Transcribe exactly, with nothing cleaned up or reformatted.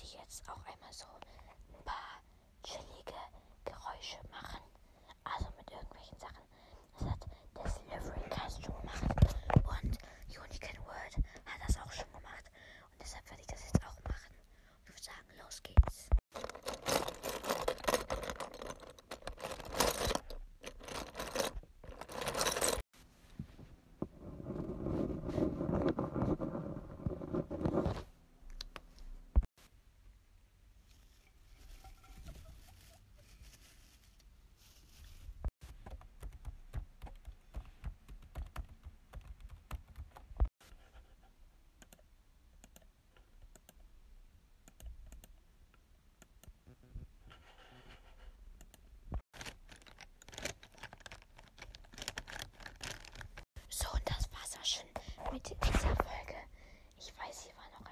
möchte ich jetzt auch einmal so ein paar chillige Geräusche machen. Also mit irgendwelchen Sachen. Das hat der Silverycast schon gemacht. Und Unicorn World hat das auch schon gemacht. Und deshalb werde ich das jetzt auch machen. Und ich würde sagen, los geht's. So, und das war's auch schon mit dieser Folge. Ich weiß, hier war noch